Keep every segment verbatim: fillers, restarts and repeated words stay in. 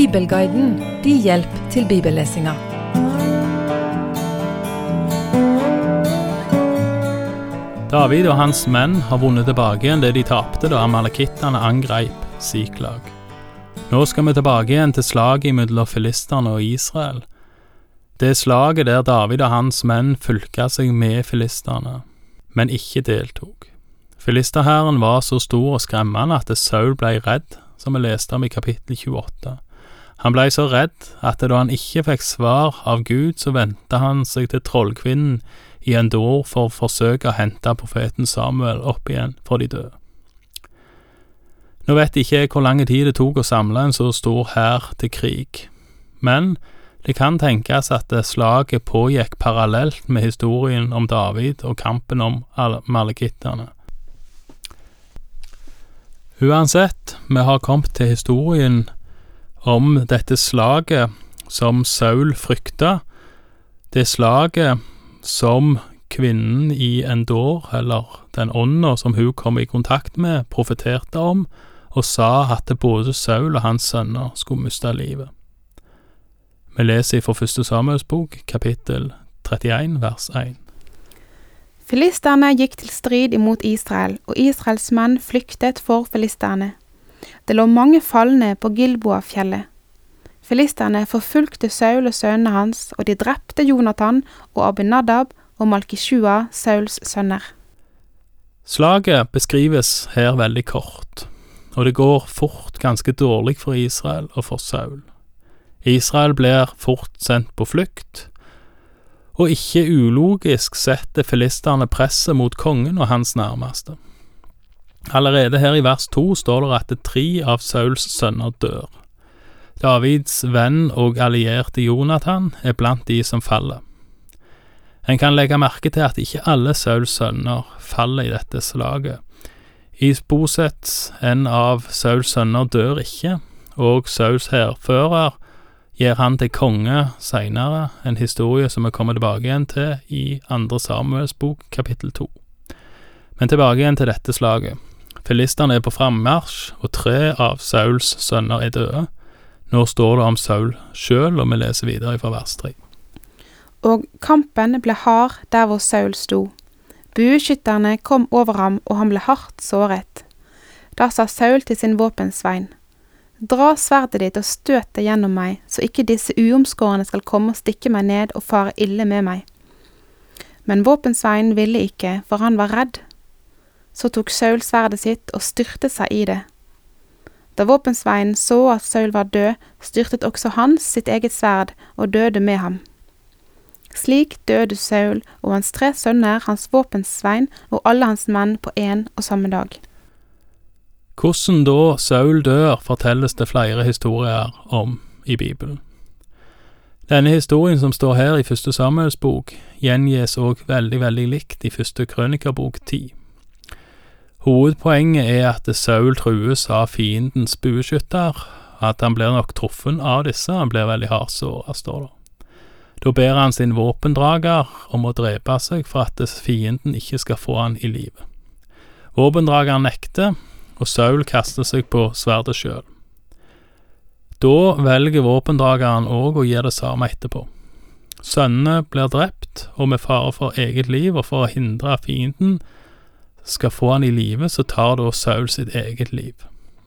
Bibelguiden, din hjelp til bibellesinga. David og hans menn har vunnet tilbake igjen det de tapte da amalekittene angreip Siklag. Nå skal vi tilbake igjen til slaget mellom filisterne og Israel. Det slaget der David og hans menn fylka seg med filisterne, men ikke deltok. Filisterherren var så stor og skremmende at Saul ble redd, som vi leste om i kapittel tjueåtte. Han ble så redd at da han ikke fikk svar av Gud, så ventet han seg til trollkvinnen i Endor for å forsøke å hente profeten Samuel opp igjen for de døde. Nå vet ikke jeg hvor lang tid det tok å samle en så stor hær til krig, men det kan tenkes at slaget pågikk parallelt med historien om David og kampen om amalekittene. Uansett, vi har kommet til historien om dette slaget som Saul frykta, det slaget som kvinnen i Endor, eller den ånden som hun kom i kontakt med, profeterte om, og sa at både Saul og hans sønner skulle miste livet. Vi leser fra første Samuels bok, kapittel trettien, vers én. Filisterne gikk til strid imot Israel, og Israels menn flyktet for filisterne. Det lå mange falne på Gilboa-fjellet. Filisterne forfulgte Saul og sønnene hans, og de drepte Jonathan og Abinadab og Malkishua, Sauls sønner. Slaget beskrives her veldig kort, og det går fort ganske dårlig for Israel og for Saul. Israel blir fort sendt på flukt, og ikke ulogisk setter filisterne presset mot kongen og hans nærmeste. Allerede her i vers to står det at tre av Sauls sønner dør. Davids venn og allierte Jonathan er blant de som faller. En kan legge merke til at ikke alle Sauls sønner faller i dette slaget. Isboset, en av Sauls sønner, dør ikke, og Sauls hærfører gir han til konge senere, en historie som vi kommer tilbake igjen til i andre Samuels bok, kapittel to. Men tilbake igjen til dette slaget. Filisterne er på frammarsj, og tre av Sauls sønner er døde. Nå står det om Saul selv, og vi leser videre fra vers tre. Og kampen ble hard der hvor Saul sto. Bueskytterne kom over ham, og han ble hardt såret. Da sa Saul til sin våpensvein: «Dra sverdet ditt og støt det gjennom meg, så ikke disse uomskårene skal komme og stikke meg ned og fare ille med meg.» Men våpensveien ville ikke, for han var redd. Så tok Saul sverdet sitt og styrtet seg i det. Da våpensveien så at Saul var død, styrtet også han sitt eget sverd og døde med ham. Slik døde Saul og hans tre sønner, hans våpensvein og alle hans menn på en og samme dag. Hvordan da Saul dør, fortelles det flere historier om i Bibelen. Denne historien som står her i første Samuels bok, gjengjes også veldig, veldig likt i første Krønikerbok ti. Hovedpoenget er at Saul trues av fiendens bueskytter, at han blir nok truffen av disse, han blir veldig hardsåret, står det. Da ber han sin våpendrager om å drepe seg for at fienden ikke skal få han i livet. Våpendrageren nekter, og Saul kaster seg på sverdet selv. Da velger våpendrageren også å gjøre det samme etterpå. Sønnene blir drept, og med fare for eget liv og for å hindre fienden skal få han i livet, så tar da Saul sitt eget liv.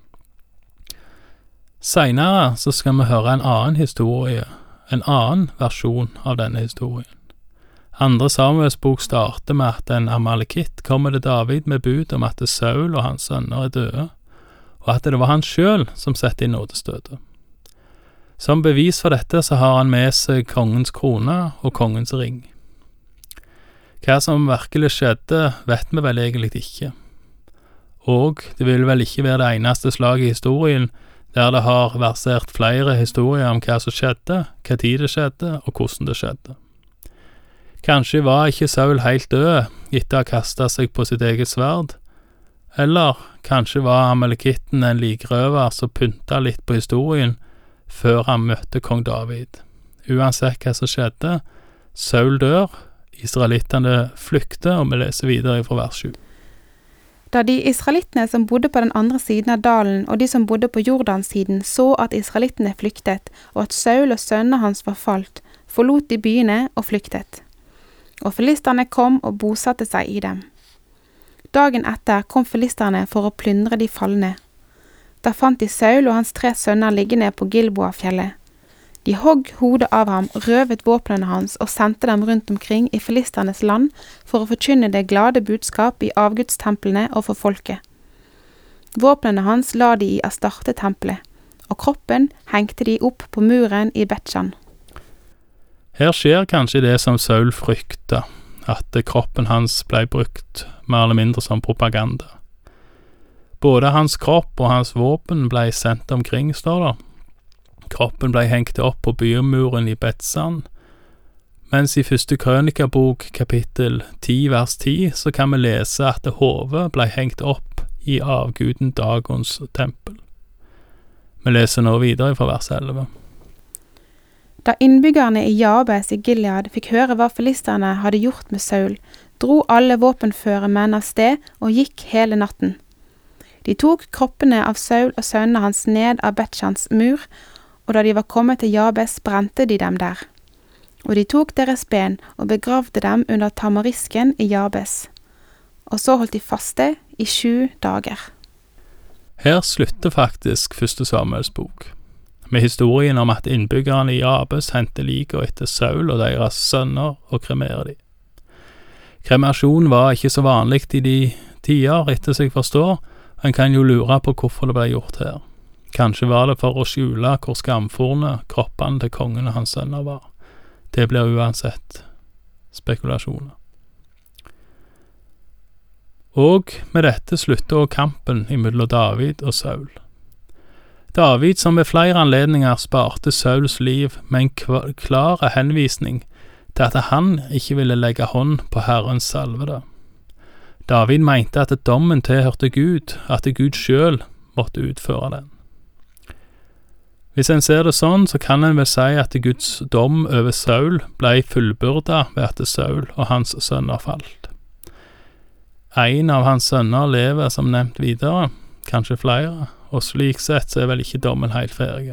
Senere så skal vi høre en annen historie, en annen versjon av denne historien. Andre Samuels bok starter med at en amalekitt kommer til David med bud om at Saul og hans sønner er døde, og at det var han selv som setter inn nådestøtet. Som bevis for dette så har han med seg kongens krone og kongens ring. Hva som virkelig skjedde, vet vi vel egentlig ikke. Og det vil vel ikke være det eneste slaget i historien der det har versert flere historier om hva som skjedde, hva tid det skjedde og hvordan det skjedde. Kanskje var ikke Saul helt død etter å ha kastet seg på sitt eget sverd, eller kanskje var amalekitten en likrøver som pyntet litt på historien før han møtte kong David. Uansett hva som skjedde, Saul dør, israelittene flykter, og vi leser videre fra vers sju. Da de israelittene som bodde på den andre siden av dalen og de som bodde på Jordansiden så at israelittene flyktet og at Saul og sønnene hans var falt, forlot de byene og flyktet. Og filisterne kom og bosatte seg i dem. Dagen etter kom filisterne for å plyndre de falne. Da fant de Saul og hans tre sønner liggende på Gilboa-fjellet. De hogg hodet av ham, røvet våpnene hans og sendte dem rundt omkring i filisternes land for å forkynne det glade budskap i avgudstemplene og for folket. Våpnene hans la de i Astarte-tempelet, og kroppen hengte de opp på muren i Betsjan. Her skjer kanskje det som Saul frykta, at kroppen hans ble brukt mer eller mindre som propaganda. Både hans kropp og hans våpen ble sendt omkring, står det. Kroppen ble hengt opp på bymuren i Betsan, mens i første krønikabok kapittel ti vers ti så kan vi lese at hodet ble hengt opp i avguden Dagons tempel. Vi leser nå videre fra vers elleve. Da innbyggerne i Jabes i Gilead fikk høre hva filisterne hadde gjort med Saul, dro alle våpenføre menn av sted og gikk hele natten. De tok kroppene av Saul og sønnene hans ned av Betshans mur, og da de var kommet til Jabes, brente de dem der. Og de tok deres ben og begravde dem under tamarisken i Jabes. Og så holdt de faste i sju dager. Her slutter faktisk første Samuels bok, med historien om at innbyggerne i Jabes hentet liket etter Saul og deres sønner og kremerer de. Kremasjon var ikke så vanlig i de tider, etter seg forstår, og en kan jo lure på hvorfor det ble gjort her. Kanskje var det for å skjule hvor skamforne kroppene til kongen og hans sønner var. Det blir uansett spekulasjoner. Og med dette slutter også kampen imellom David og Saul. David, som ved flere anledninger sparte Sauls liv med en klar henvisning til at han ikke ville legge hånd på Herrens salvede. David mente at dommen tilhørte Gud, at Gud selv måtte utføre den. Hvis en ser det sånn, så kan en vel si at Guds dom over Saul ble fullbyrdet ved at Saul og hans sønner falt. En av hans sønner lever som nevnt videre, kanskje flere, og slik sett så er vel ikke dommen helt ferdig.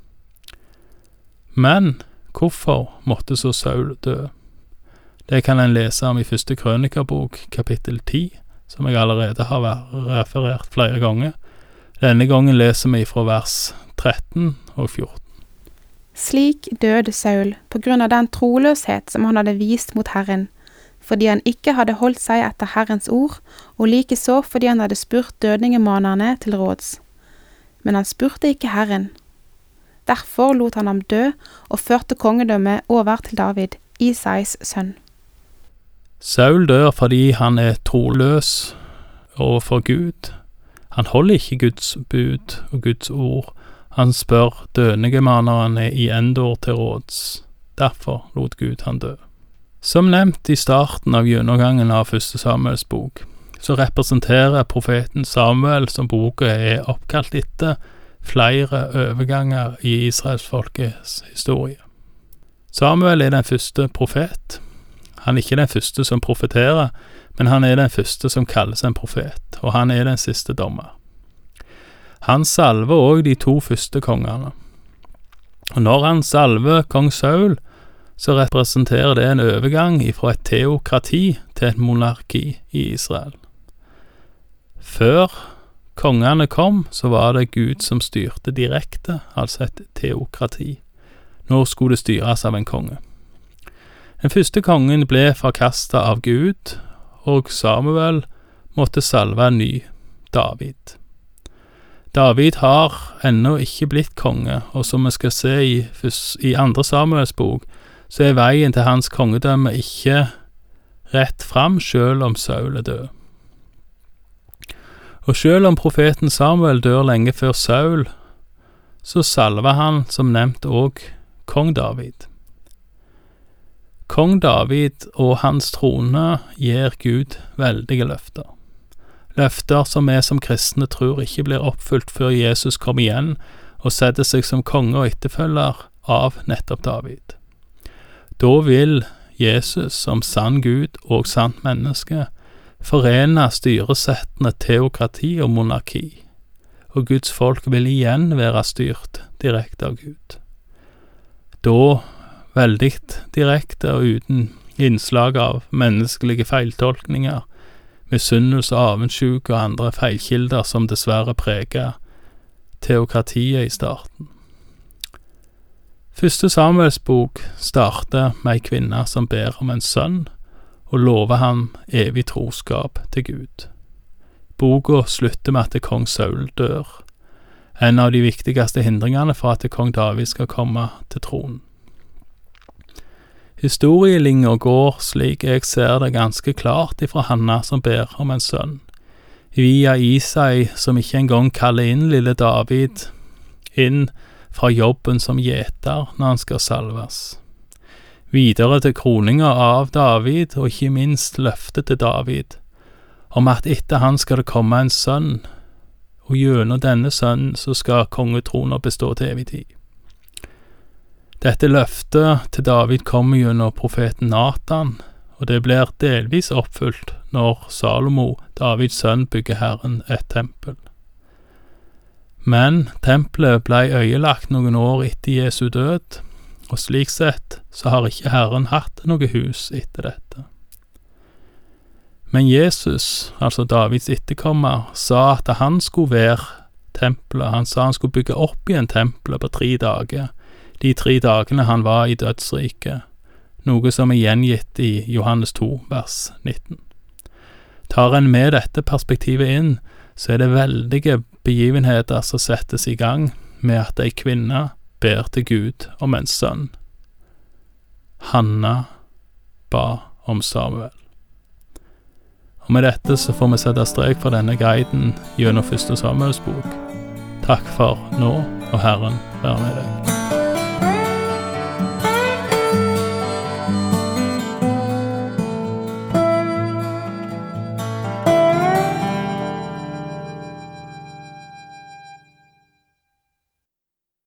Men hvorfor måtte så Saul dø? Det kan en lese om i første krønikabok, kapittel ti, som jeg allerede har referert flere ganger. Denne gangen leser vi fra vers tretten og fjorten. Slik døde Saul på grunn av den troløshet som han hadde vist mot Herren, fordi han ikke hadde holdt seg etter Herrens ord, og likeså fordi han hadde spurt dødningemanerne til råds. Men han spurte ikke Herren. Derfor lot han ham dø og førte kongedømmet over til David, Isais sønn. Saul dør fordi han er troløs overfor Gud. Han holder ikke Guds bud og Guds ord. Han spør dødningemanerne i Endor til råds. Derfor lot Gud han dø. Som nevnt i starten av gjennomgangen av første Samuels bok, så representerer profeten Samuel, som boka er oppkalt etter, flere overganger i Israels folkets historie. Samuel er den første profet. Han er ikke den første som profeterer, men han er den første som kalles en profet, og han er den siste dommer. Han salver også de to første kongene. Og når han salver kong Saul, så representerer det en overgang fra et teokrati til et monarki i Israel. Før kongene kom, så var det Gud som styrte direkte, altså et teokrati. Nå skulle det styres av en konge. Den første kongen ble forkastet av Gud, og Samuel måtte salve en ny, David. David har ennå ikke blitt konge, og som vi skal se i, i andre Samuels bok, så er veien til hans kongedømme ikke rett fram, selv om Saul er død. Og selv om profeten Samuel dør lenge før Saul, så salver han, som nevnt, også kong David. Kong David og hans trone gir Gud veldige løfter. Løfter som vi som kristne tror ikke blir oppfylt før Jesus kommer igjen og setter seg som konge og etterfølger av nettopp David. Da vil Jesus som sann Gud og sant menneske forene styresettene teokrati og monarki, og Guds folk vil igjen være styrt direkte av Gud. Da veldig direkte og uten innslag av menneskelige feiltolkninger, misunnelse, avundsjuke og andre feilkilder som dessverre preger teokratiet i starten. Første Samuels bok starter med ei kvinne som ber om en sønn, og lover ham evig troskap til Gud. Boka slutter med at kong Saul dør, en av de viktigste hindringene for at kong David skal komme til tronen. Historielinja går, slik jeg ser det, ganske klart ifra Hanna som ber om en sønn, via Isai som ikke engang kaller inn lille David inn fra jobben som gjeter når han skal salves. Videre til kroninga av David, og ikke minst løftet til David, om at etter han skal det komme en sønn, og gjennom denne sønnen så skal kongetronen bestå til evig tid. Dette løftet til David kommer gjennom profeten Nathan, og det blir delvis oppfylt når Salomo, Davids sønn, bygger Herren et tempel. Men tempelet ble øyelagt noen år etter Jesu død, og slik sett så har ikke Herren hatt noe hus etter dette. Men Jesus, altså Davids etterkommer, sa at han skulle være tempelet. Han sa han skulle bygge opp igjen tempelet på tre dager, de tre dagene han var i dødsriket, noe som er gjengitt i Johannes to, vers nitten. Tar en med dette perspektivet inn, så er det veldige begivenheter som settes i gang med at ei kvinne ber til Gud om en sønn. Hanna ba om Samuel. Og med dette så får vi sette strek for denne guiden gjennom første Samuels bok. Takk for nå, og Herren være med deg.